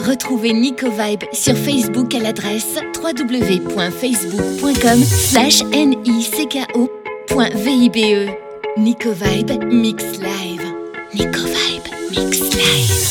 Retrouvez Nico Vibe sur Facebook à l'adresse www.facebook.com/NICKO.VIBE. Nico Vibe Mix Live. Nico Vibe Mix Live.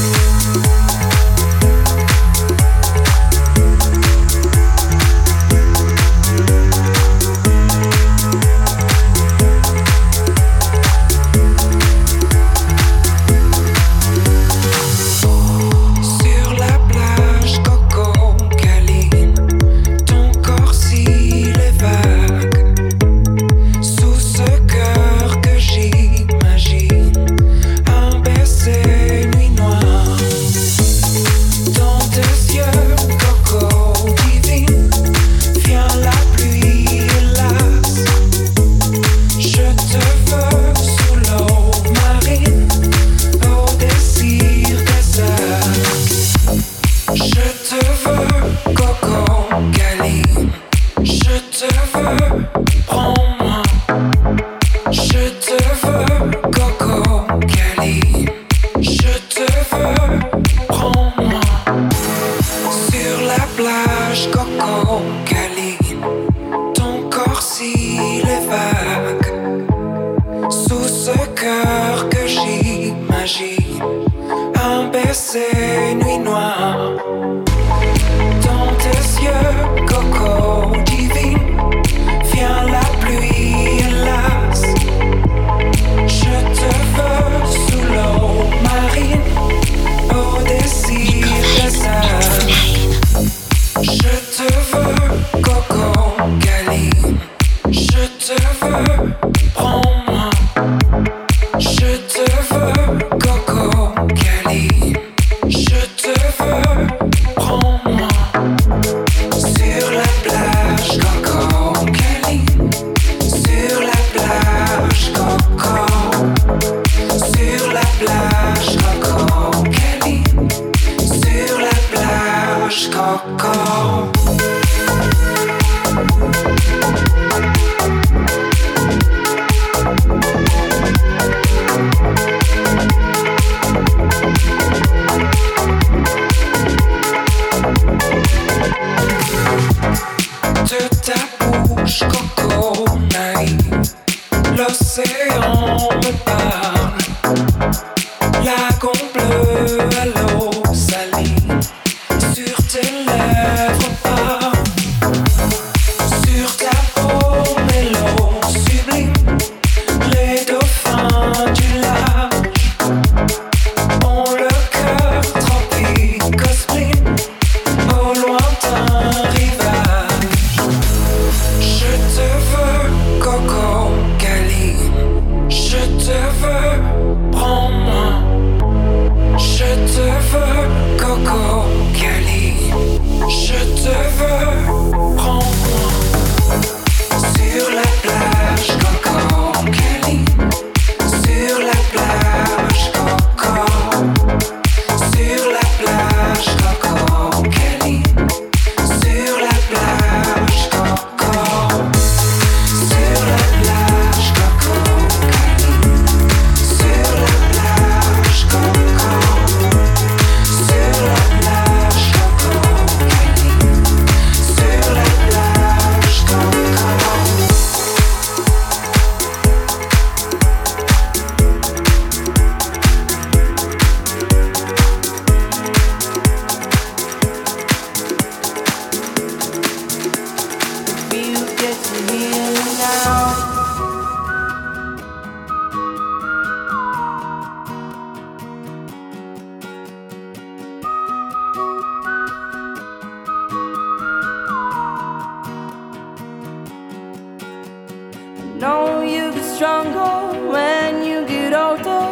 know you get stronger when you get older.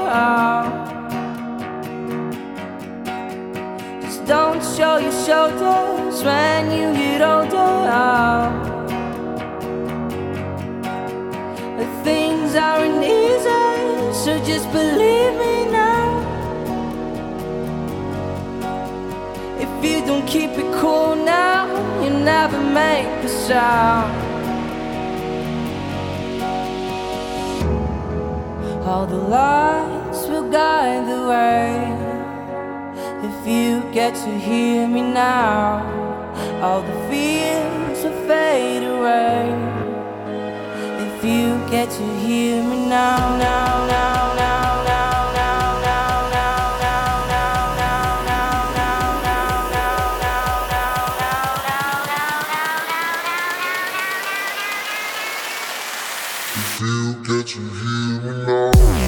Just don't show your shoulders when you get older. Things aren't easy, so just believe me now. If you don't keep it cool now, you never make a sound. All the lights will guide the way if you get to hear me now, all the fears will fade away. If you get to hear me now, now, now, now, now. You get to hear me now.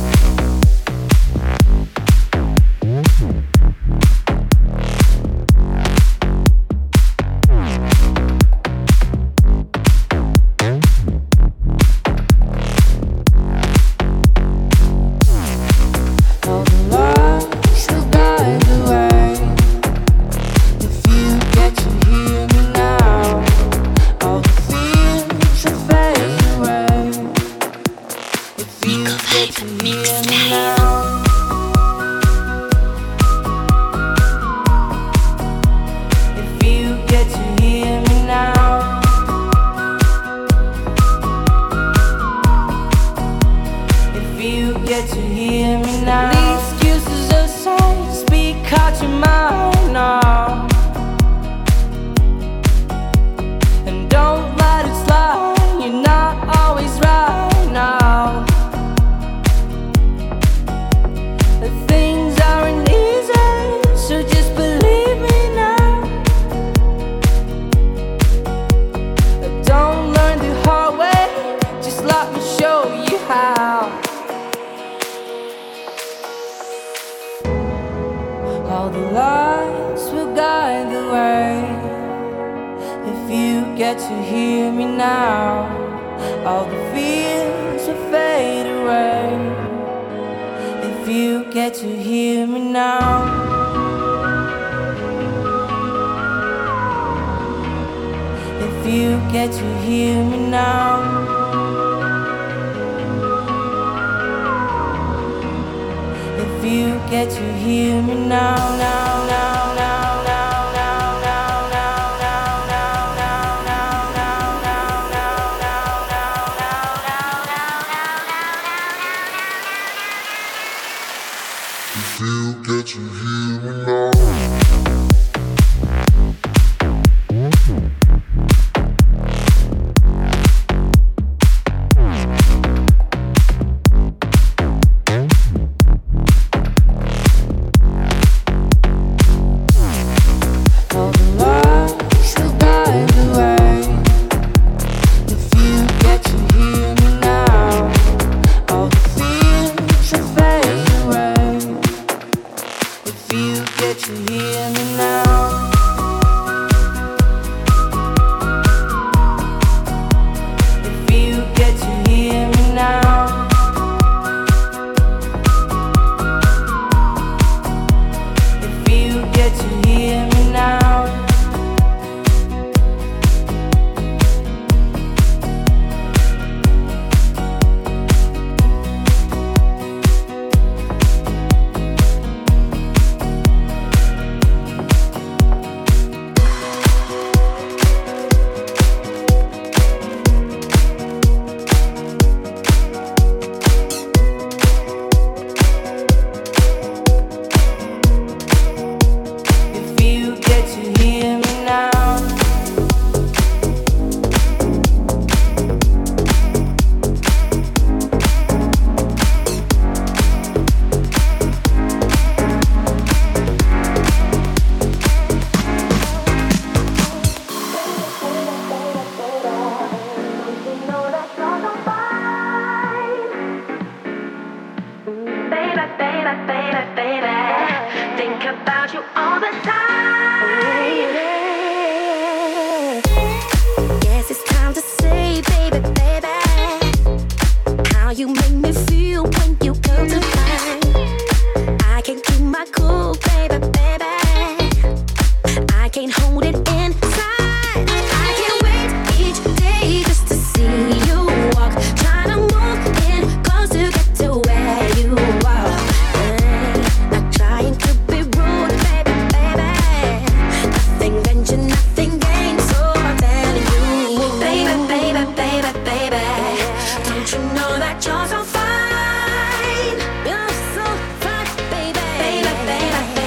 All the lights will guide the way. If you get to hear me now, all the fears will fade away. If you get to hear me now. If you get to hear me now. If you get to hear me now, now, now, now, now, now, now, now, now, now, now, now, now, now, now, now, if you get to hear me now. You're so fine, baby.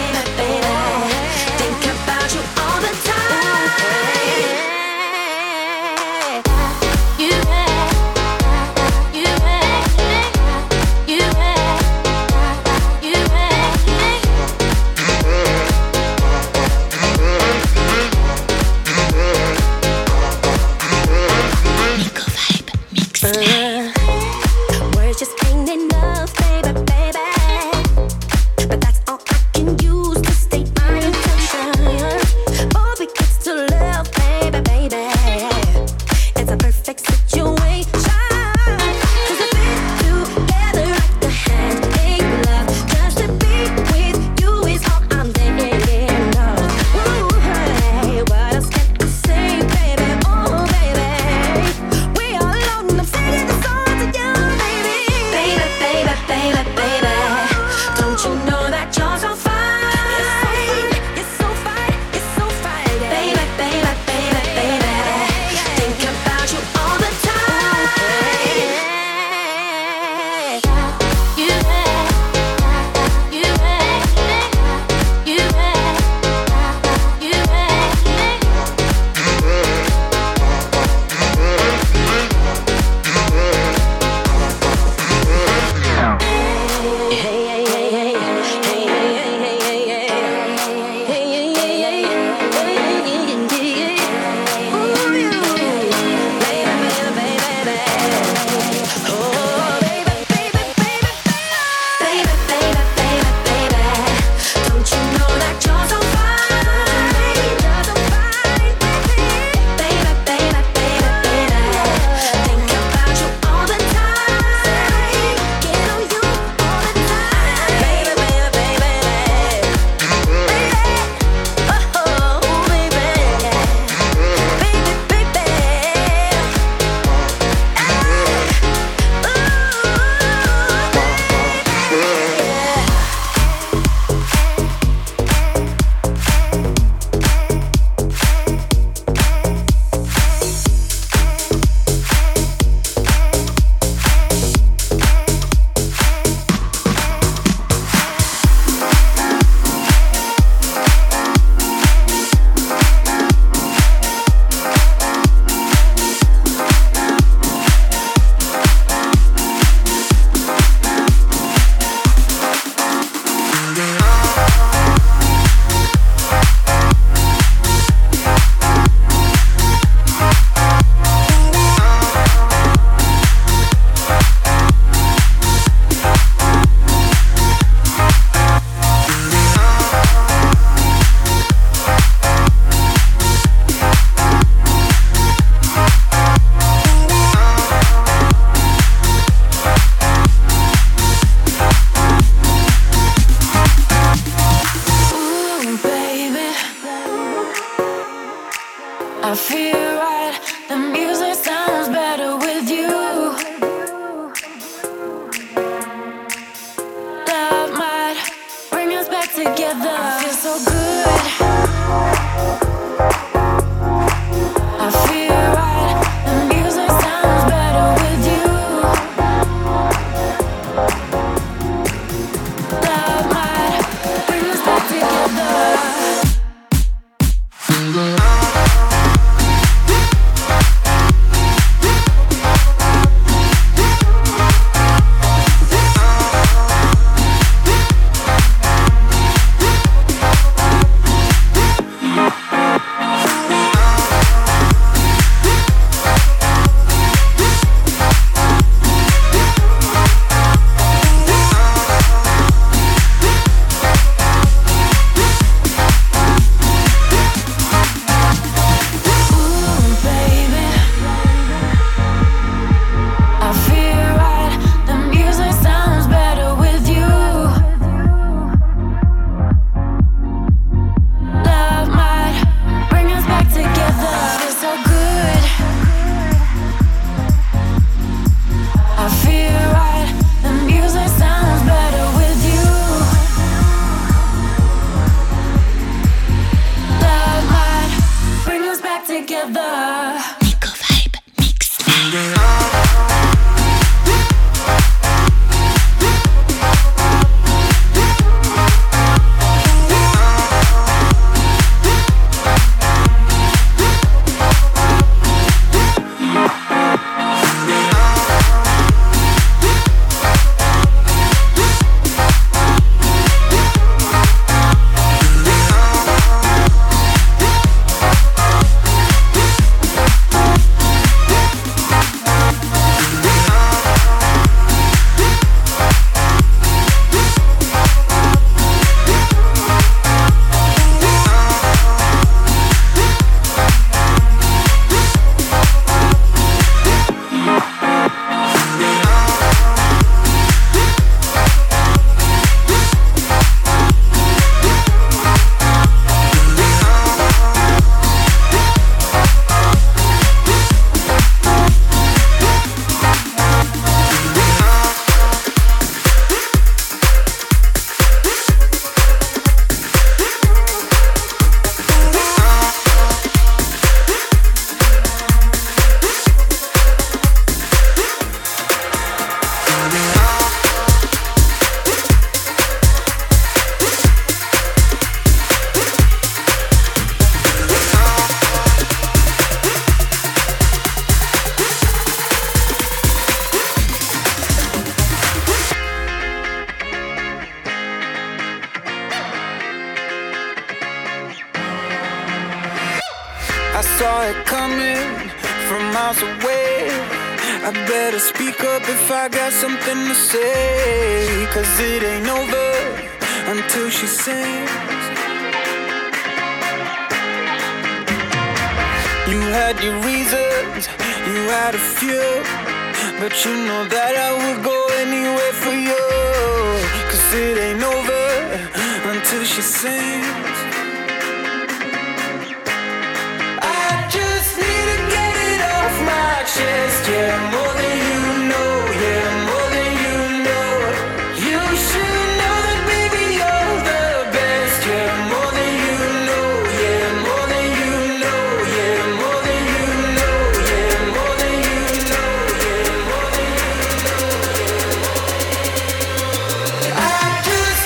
I feel right. The music sounds better with you. Love might bring us back together. I feel so good. I feel right. The music sounds better with you. Love might bring us back together. I saw it coming from miles away. I better speak up if I got something to say, 'cause it ain't over until she sings. You had your reasons, you had a few, but you know that I would go anywhere for you, 'cause it ain't over until she sings. Yeah, more than you know, yeah, more than you know. You should know that, baby, you're the best. Yeah, more than you know, yeah, more than you know, yeah, more than you know, yeah, more than you know, yeah, more than you know, I just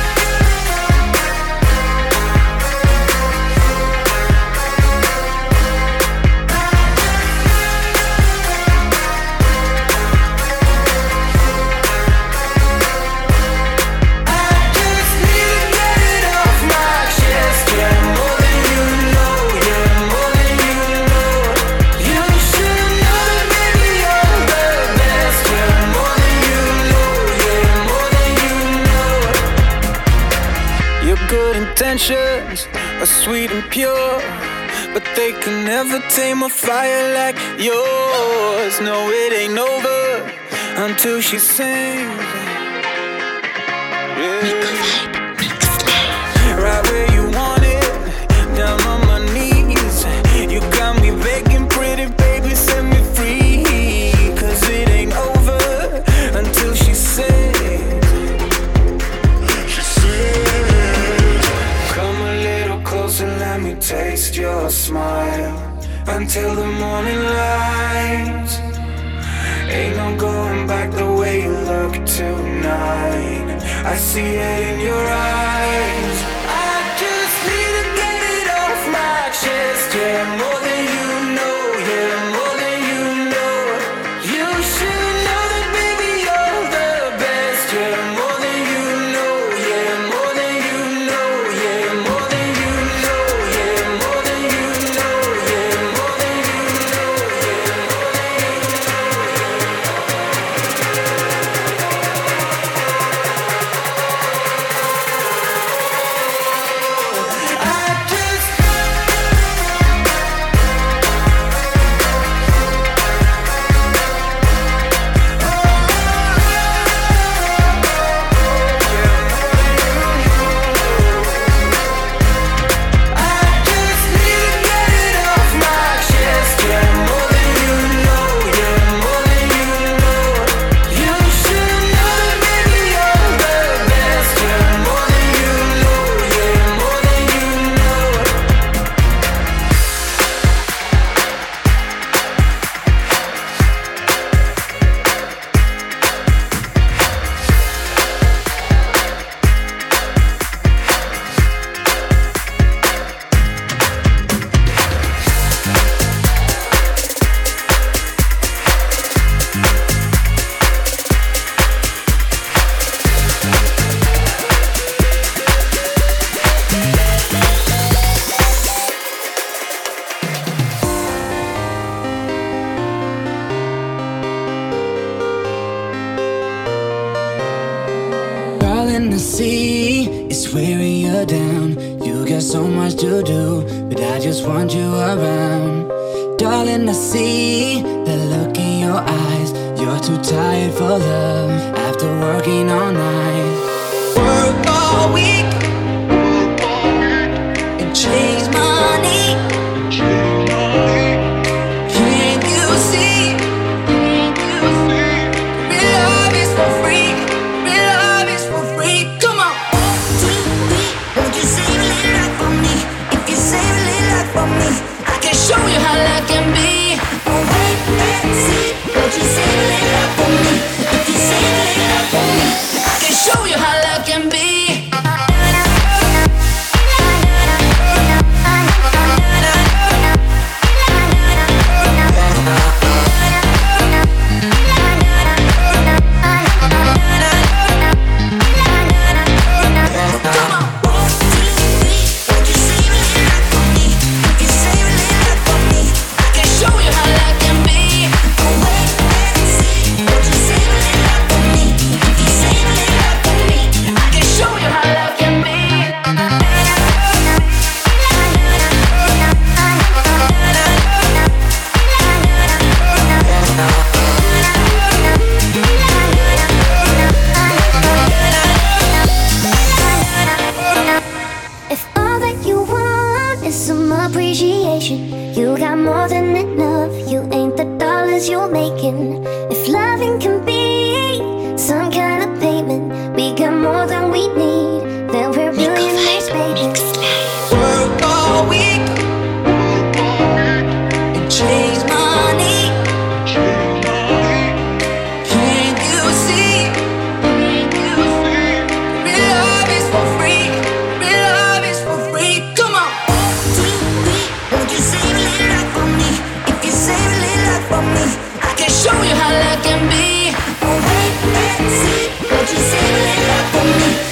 intentions are sweet and pure, but they can never tame a fire like yours. No, it ain't over until she sings. Yeah. Right where you want it, down on my knees. You got taste your smile until the morning light. Ain't no going back the way you look tonight. I see it in your eyes. I just need to get it off my chest. Yeah, more than you know. Yeah, more than you know. You should know that, baby, you're the best. Yeah, more than you know. Yeah, more than you know. Yeah, more than you know. Yeah, more than you know. Yeah, more than you know. Yeah, more than you so much to do, but I just want you around. Darling, I see the look in your eyes. You're too tired for love after working all night. Work all week and chase money. Can't you see? Real love is for free. Real love is for free. Come on. 1, 2, 3. Won't you save a little life for me? If you save a little life for me, I can show you how love can be. Oh, wait and see. Won't you save a little life for me? If you save a little life for me, I can show you how love can be. You got more than enough. You ain't the dollars you're making. If loving can be some kind of payment, we got more than we need. Then we're billionaires, baby. Work all week and chase money. Can't you see? Real love is for free. Real love is for free. Come on. 1, 2, 3. Won't you save a little life for me? If you save a little life for me, I can show you how love can be. Oh, wait and see. Won't you save a little life for me?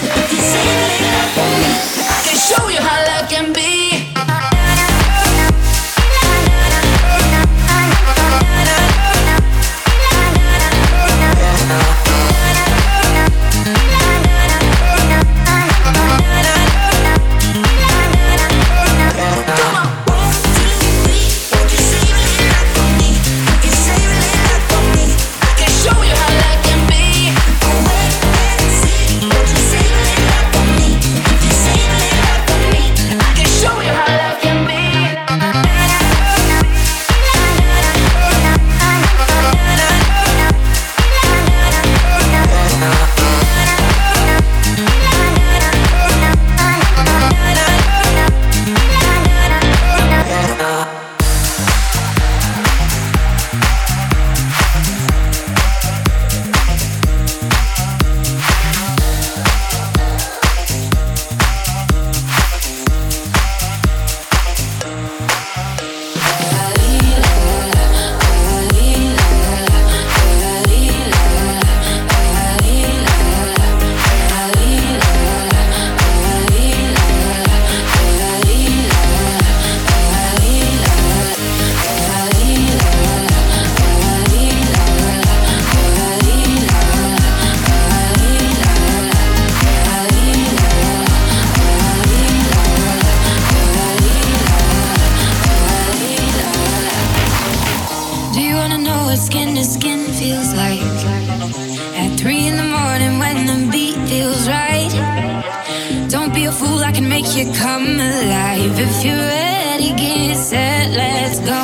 fool, I can make you come alive. If you're ready, get set, let's go.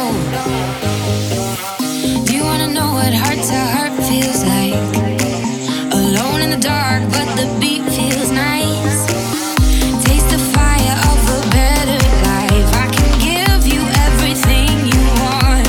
Do you wanna know what heart to heart feels like? Alone in the dark, but the beat feels nice. Taste the fire of a better life. I can give you everything you want.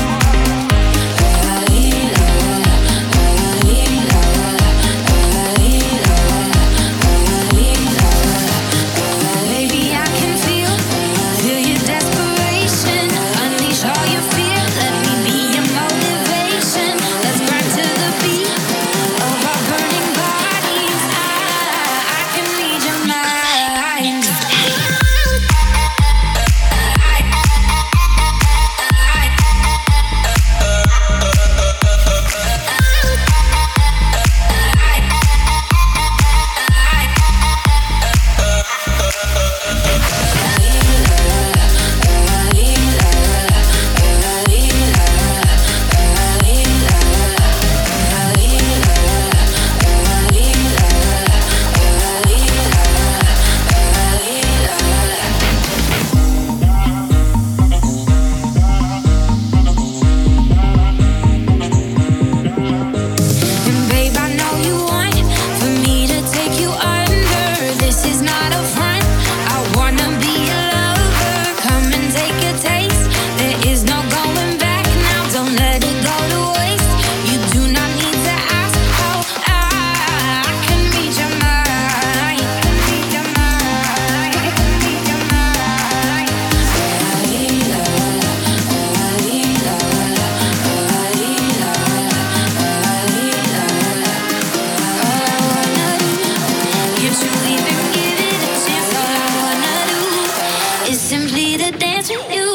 Baby, I can feel your desperation. Unleash all your fear. Let me be your motivation. Let's burn to the beat of our burning bodies. I can read your mind. And babe, I know you want for me to take you under. This is not a front. I wanna be your lover. Come and take a taste. There is no going back now. Don't let it go to waste. You do not need to ask how I can read your mind. Read your mind. Read your mind. You truly been given a chance. All I wanna do is simply to dance with you.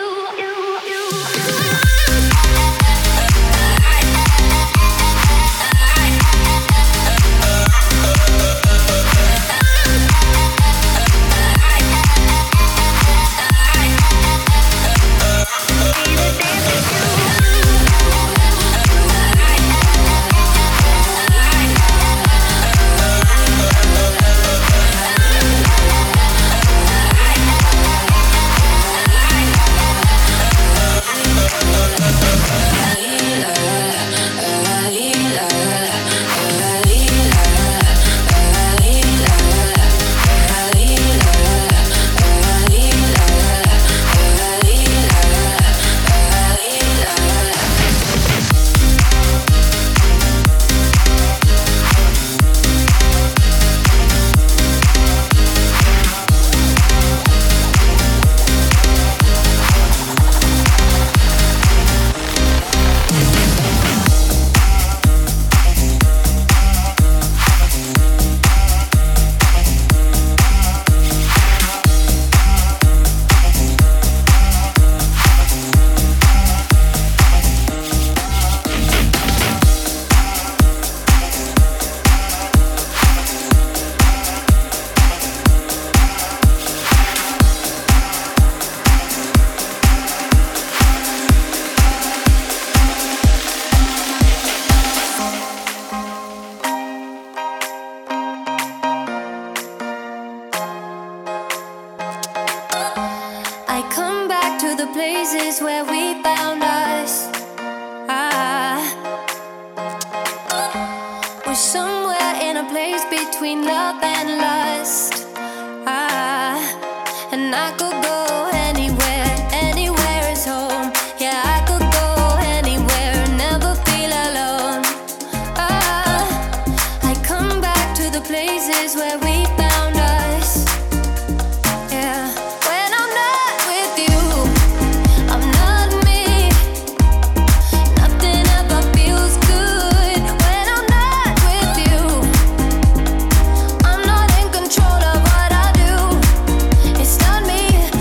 I come back to the places where we found us. We're somewhere in a place between love and lust. And I could go anywhere, anywhere is home. Yeah, I could go anywhere, never feel alone. I come back to the places where we found us. Yeah, when I'm not with you, I'm not me. Nothing ever feels good when I'm not with you. I'm not in control of what I do. It's not me.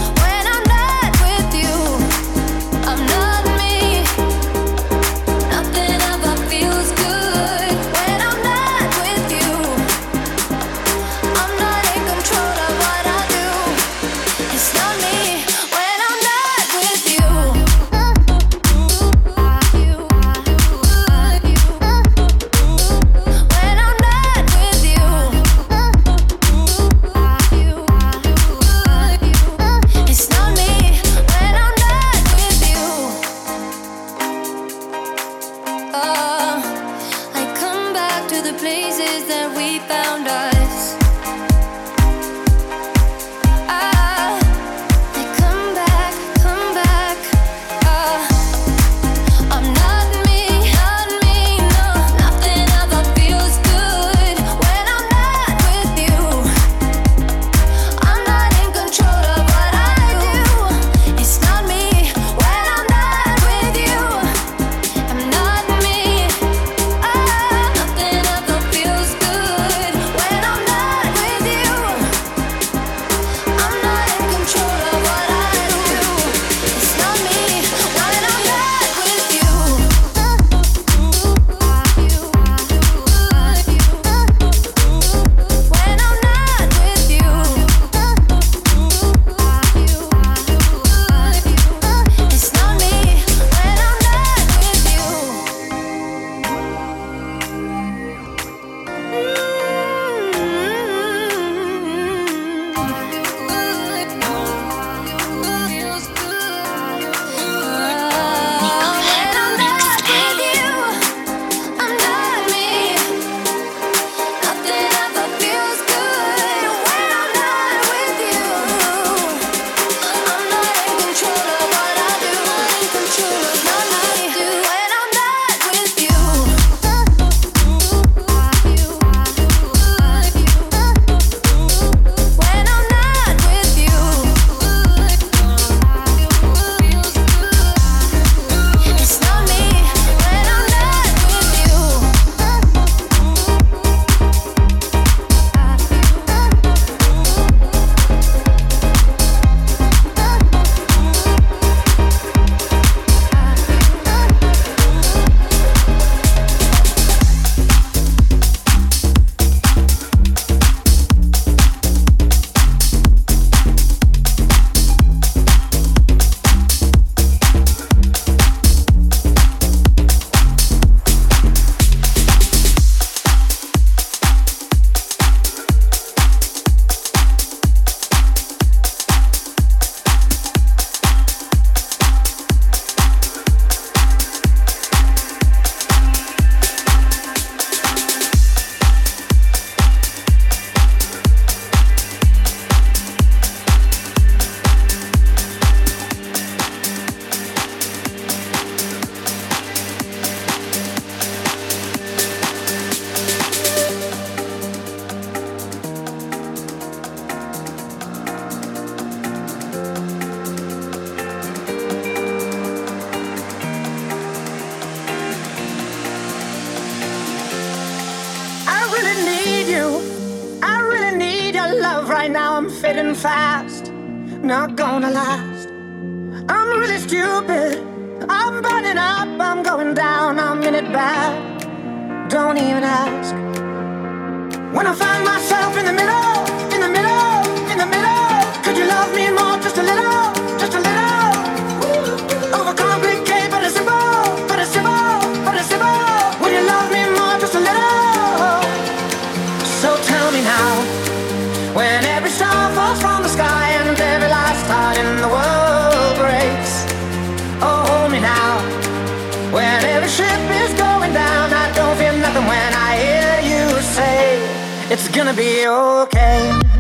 moving fast, not gonna last. I'm really stupid, I'm burning up, I'm going down, I'm in it bad. Don't even ask. When I find myself in the middle, in the middle, in the middle, could you love me more, just a little, just a little? Overcomplicate, but it's simple, but it's simple, but it's simple. Would you love me more, just a little? So tell me now, when every star falls from the sky and every last star in the world breaks. Oh, hold me now, when every ship is going down, I don't feel nothing when I hear you say, it's gonna be okay.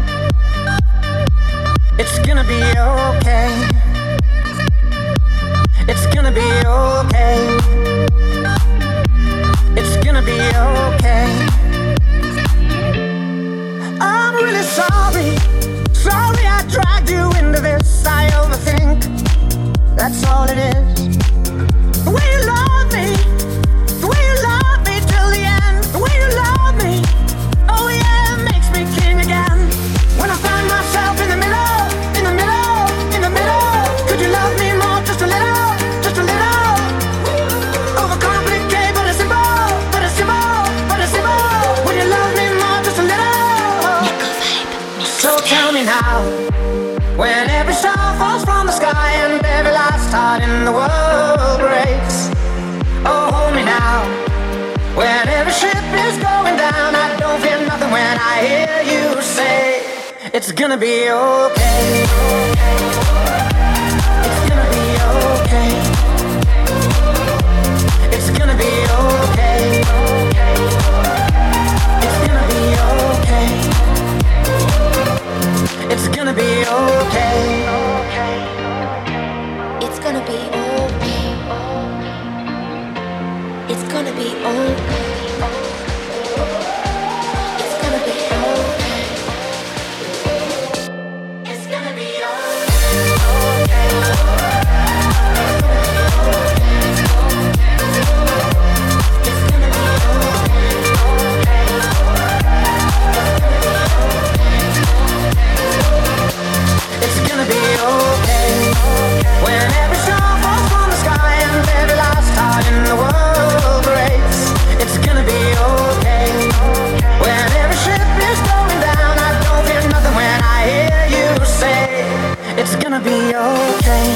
It's gonna be okay. It's gonna be okay. It's gonna be okay. I'm really sorry. Sorry I dragged you into this. I overthink. That's all it is. The way you love me. The way you love me till the end. The way you love me. Oh yeah, it makes me king again. When I find myself in the middle, in the middle, in the middle. Could you love me more, just a little, just a little? Overcomplicate, but it's simple, but it's simple, but it's simple. Would you love me more, just a little? So tell me now, when every star falls from the sky and every last heart in the world breaks. Oh, hold me now, when every ship is going down, I don't feel nothing when I hear you say, it's gonna be okay. It's gonna be okay. It's gonna be okay. It's gonna be okay. It's gonna be okay. It's gonna be okay. It's gonna be okay. It's gonna be okay. It's gonna be okay. It's gonna be okay. It's gonna be okay. When every star falls from the sky and every last heart in the world breaks. It's gonna be okay. When every ship is going down, I don't feel nothing when I hear you say, it's gonna be okay.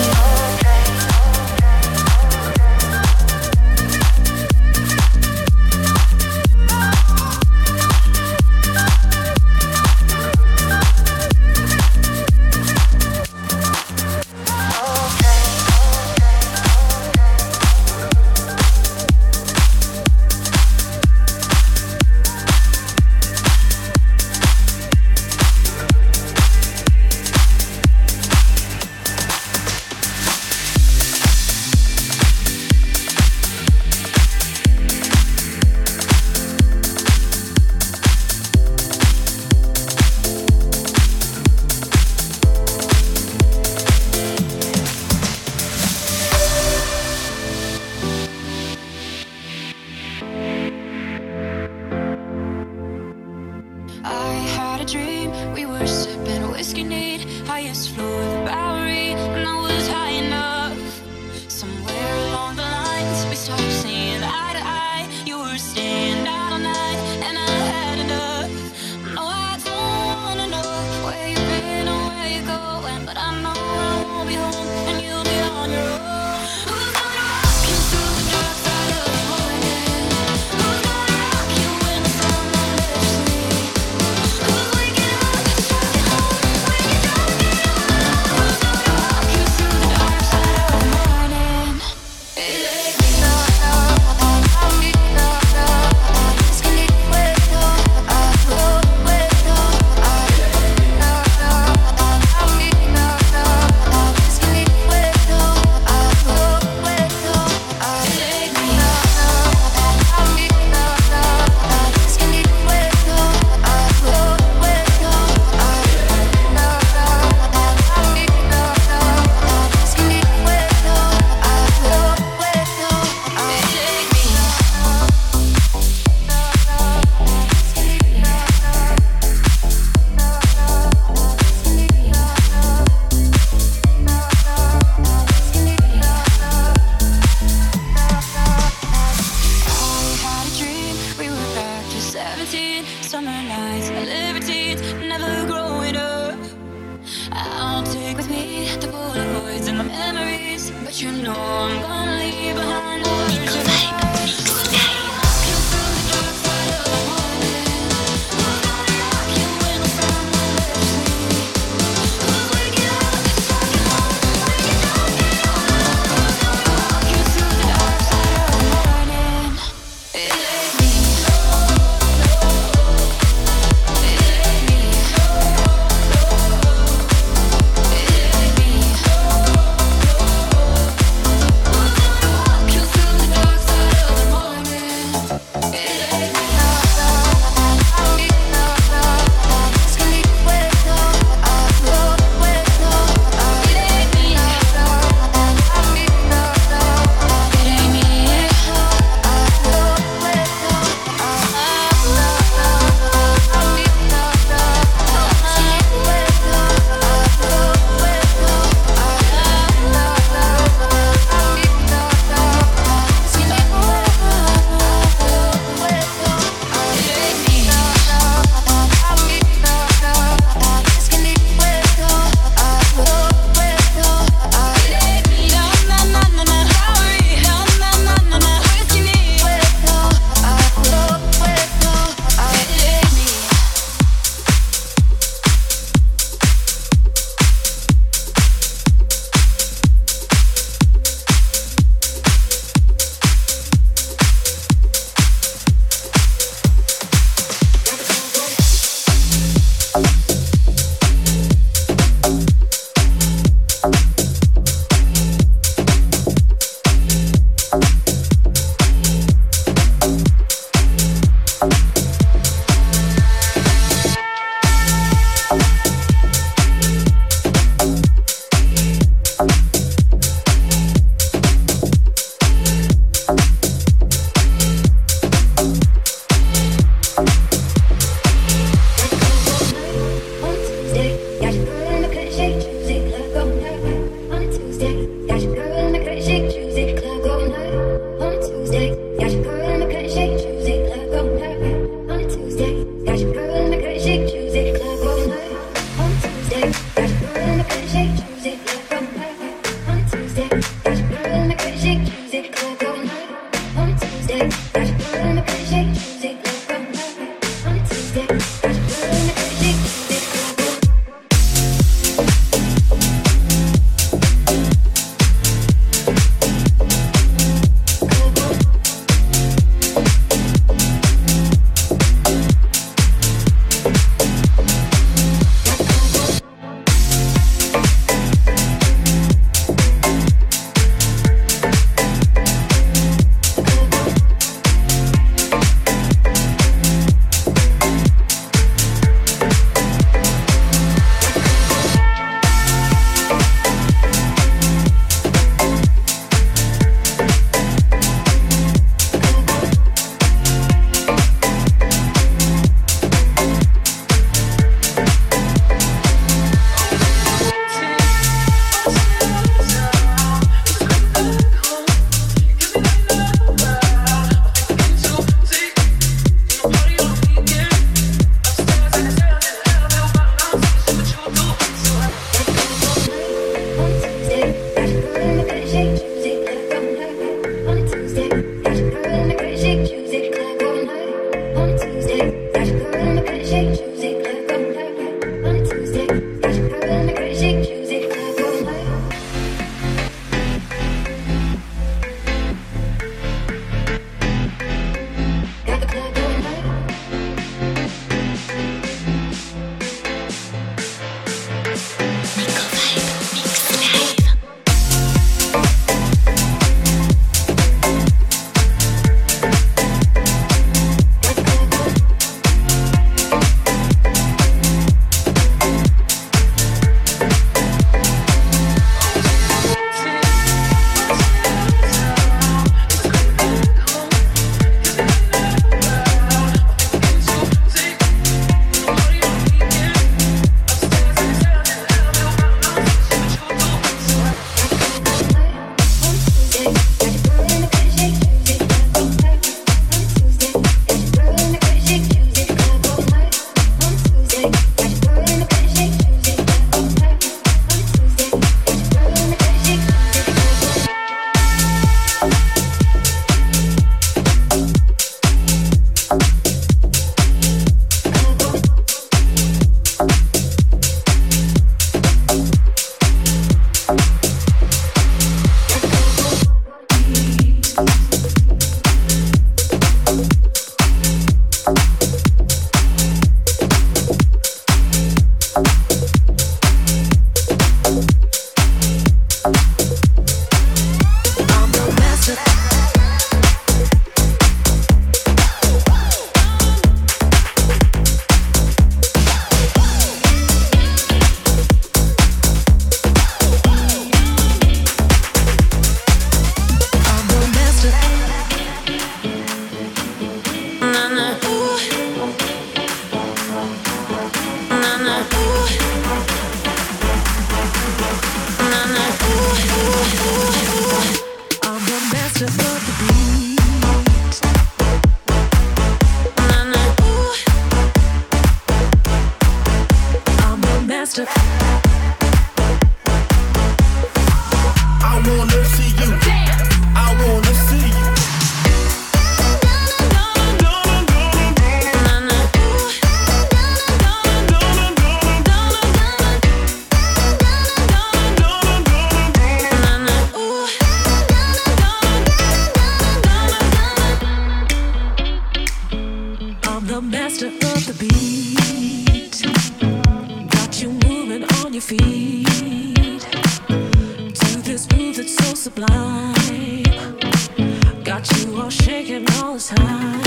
this groove that's so sublime. Got you all shaking all the time.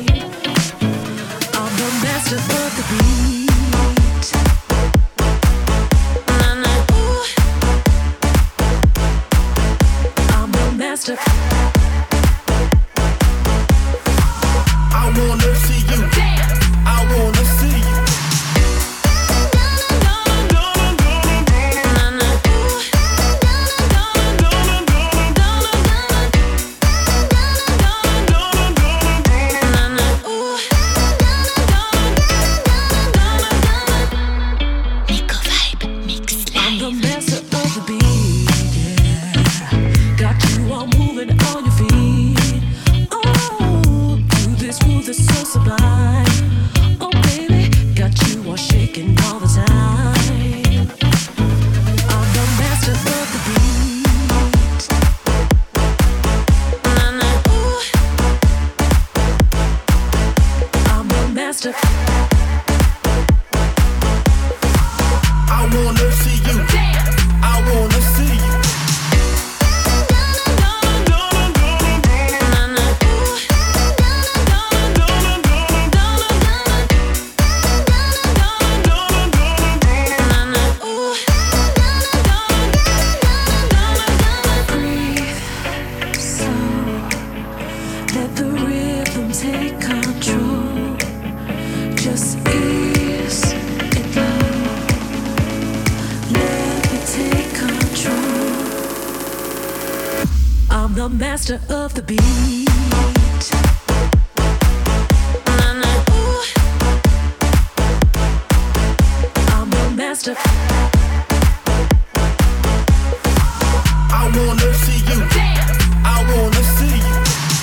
I'm the master of the beat. I'm the master. I wanna see you dance. I wanna see you. Master of the beat. I'm the master. I wanna see you dance. I wanna see you.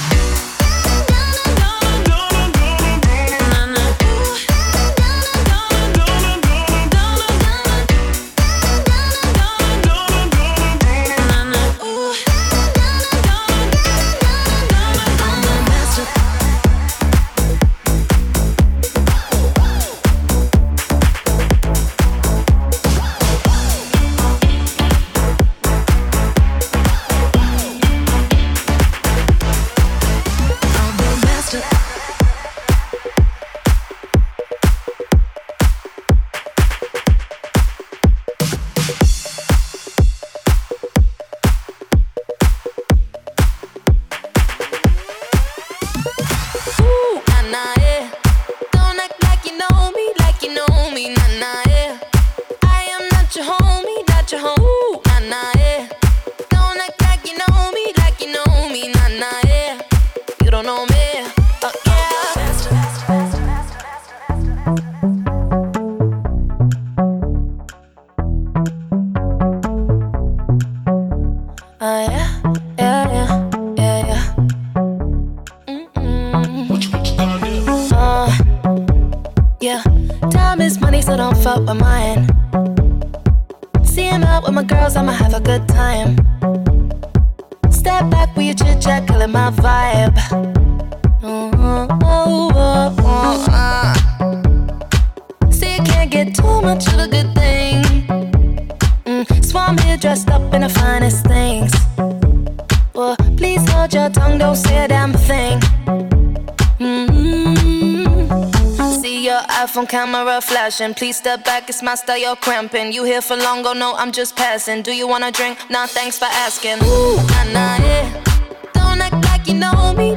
Camera flashing, please step back, it's my style, you're cramping. You here for long, go no, I'm just passing. Do you wanna drink? Nah, thanks for asking. Ooh, nah, nah, yeah. Don't act like you know me,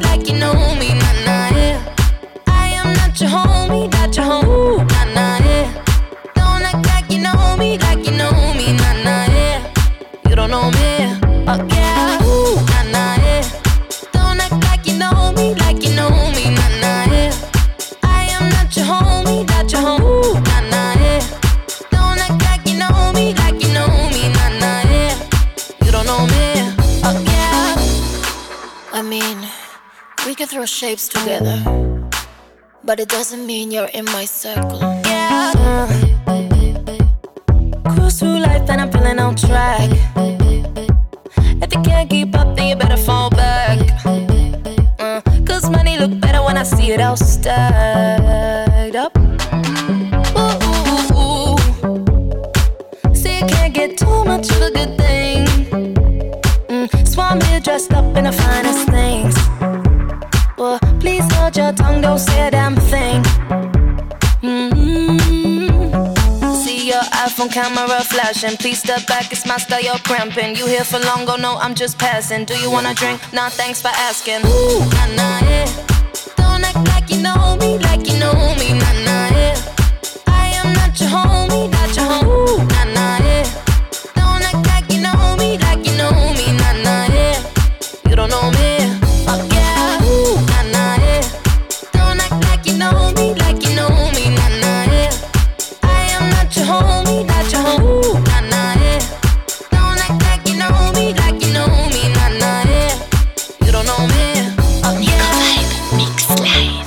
nah, nah, yeah. I am not your homie, not your homie. Ooh, nah, nah, yeah. Don't act like you know me, nah, nah, yeah. You don't know me, oh yeah. Ooh, nah, nah, yeah. Don't act like you know me, nah, nah, yeah. I am not your homie, not your homie. Ooh, nah, nah, yeah. Don't act like you know me, nah, nah, yeah. You don't know me, oh yeah. I mean, we can throw shapes together, but it doesn't mean you're in my circle. Yeah. Cruise through life and I'm feeling on track. If you can't keep up, then you better fall back. Cause money look better when I see it all stacked up. Ooh, ooh, ooh. See, you can't get too much of a good thing. up in the finest things. Well, please hold your tongue, don't say a damn thing. See your iPhone camera flashing. Please step back, it's my style, you're cramping. You here for long, go no, I'm just passing. Do you wanna drink? Nah, thanks for asking. Ooh, nah, nah, yeah. Don't act like you know me, like you know me, nah, nah, yeah. I am not your homie, not your homie. Ooh, nah, nah, yeah. Don't act like you know me, like you know me, nah, nah, yeah. You don't know me, oh yeah. Ooh, nah, nah, yeah. Don't act like you know me, like you know me, nah, nah, yeah. I am not your homie, not your homie. Ooh, nah, nah, yeah. Don't act like you know me, like you know me, nah, nah, yeah. You don't know me, oh yeah. Mix Live.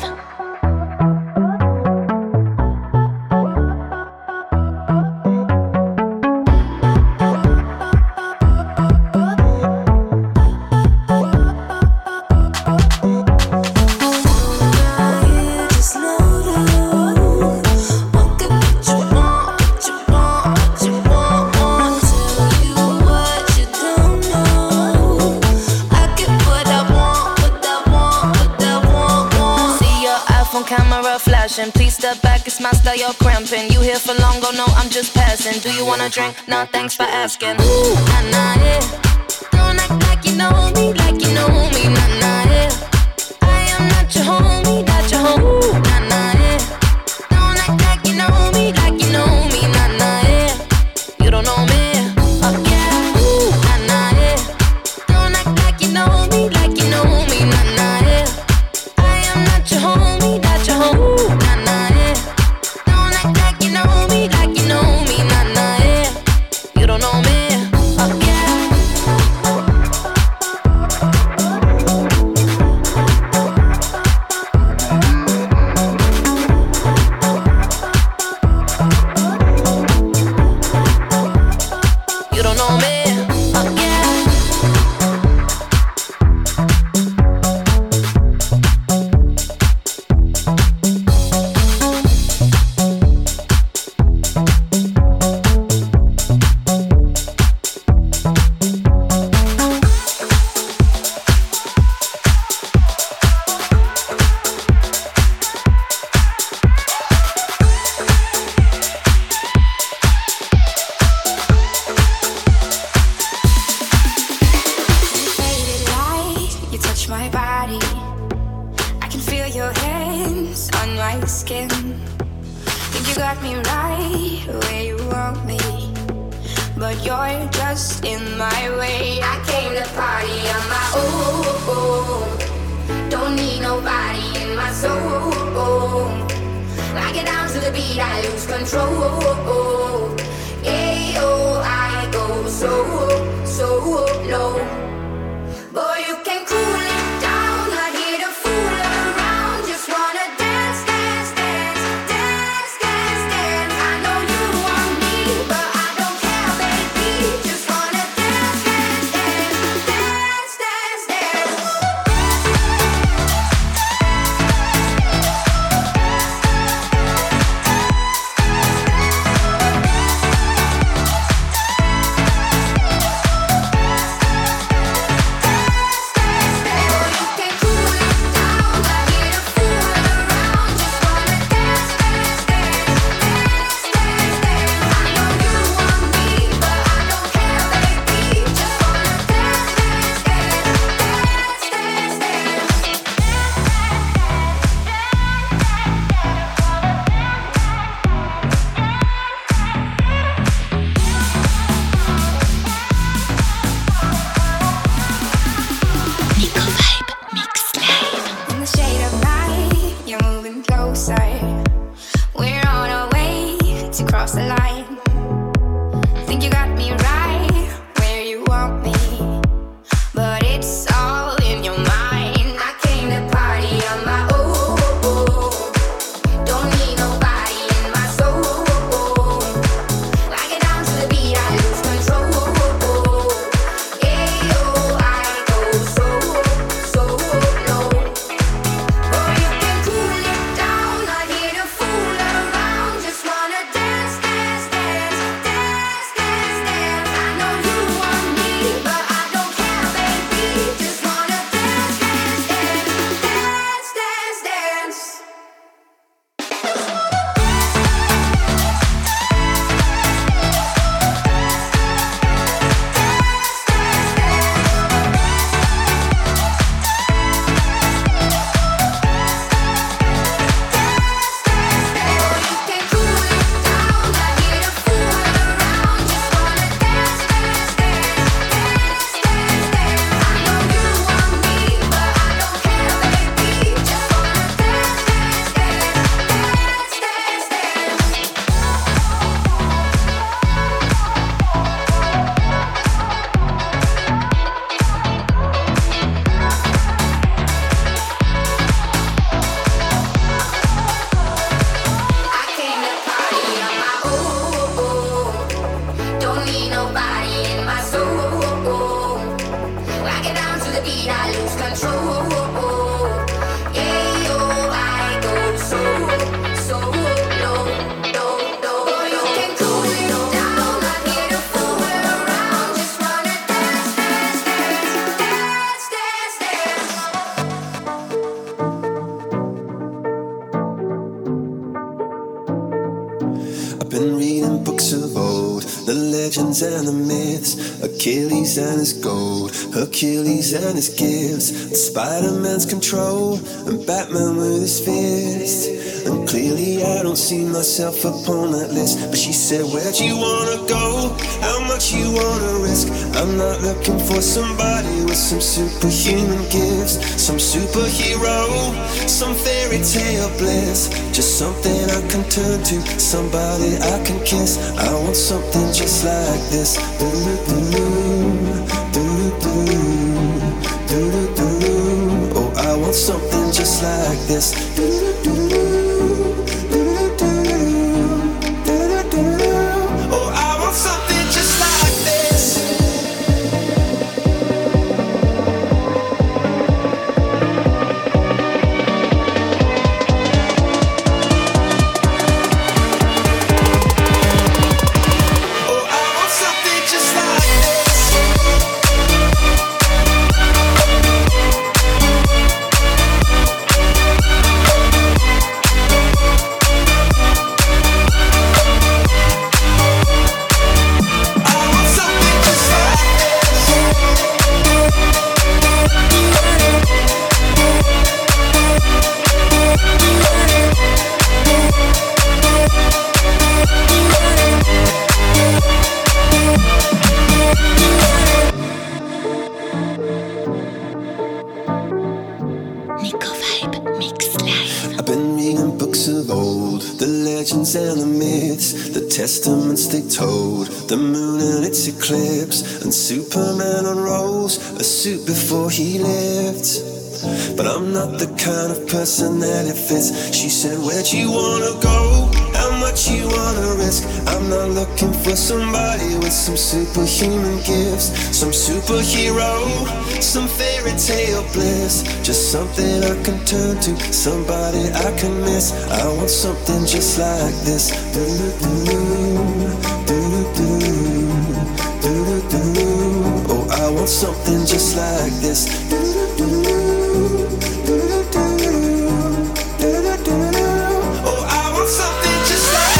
Camera flashing, please step back, it's my style, you're cramping. You here for long, go no, I'm just passing. Do you wanna drink? Nah, thanks for asking. Ooh, nah, nah, yeah. Don't act like you know me, like you know me, nah, nah, yeah. I am not your homie, not your homie. Ooh, nah, nah, yeah. Don't act like you know me, like you know me, nah, nah, yeah. You don't know me, oh yeah. Ooh, nah, nah, yeah. Don't act like you know me, like you know me, nah, nah, yeah. I am not your homie, not your homie. Ooh, nah, nah, yeah. Don't act like you know me, like you know me, nah, nah, yeah. You don't know me, oh yeah. You don't know me, oh yeah. My body, I can feel your hands on my skin. Think you got me right where you want me, but you're just in my way. I came to party on my own, don't need nobody in my soul. I get down to the beat, I lose control. Yeah, oh, I go so low. Boy, you can cool it down, not here to fool around. Just wanna dance, dance, dance, dance, dance, dance. I know you want me, but I don't care, baby. Just wanna dance, dance, dance, dance, dance, dance. legends and the myths, Achilles and his gold, Hercules and his gifts, and Spider-Man's control, and Batman with his fist. And clearly I don't see myself upon that list. But she said, where'd you wanna go? How much you wanna risk? I'm not looking for somebody with some superhuman gifts, some superhero, some fairy tale bliss. Just something I can turn to, somebody I can kiss. I want something just like this. Oh, I want something just like this. Oh, I want something just like this. And the myths, the testaments they told, the moon and its eclipse, and Superman unrolls a suit before he lived. But I'm not the kind of person that it fits. She said, where'd you wanna go? How much you wanna risk? I'm not looking for somebody with some superhuman gifts, some superhero, some fairy tale bliss. Just something I can turn to, somebody I can miss. I want something just like this. Oh, I want something just like this. Oh, I want something just like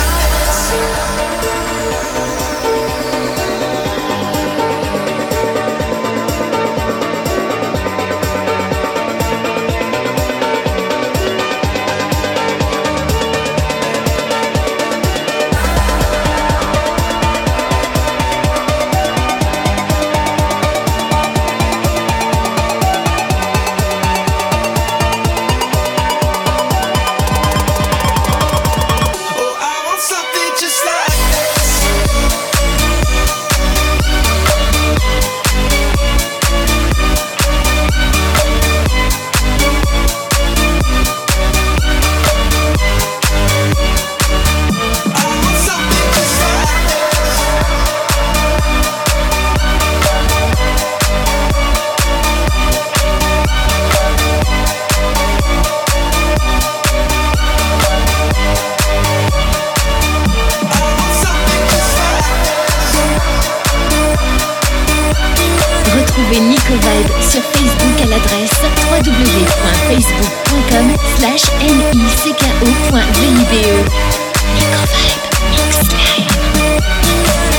Nico Vibe sur Facebook à l'adresse www.facebook.com/NICKO.VIBE. Nico Vibe Mix Live.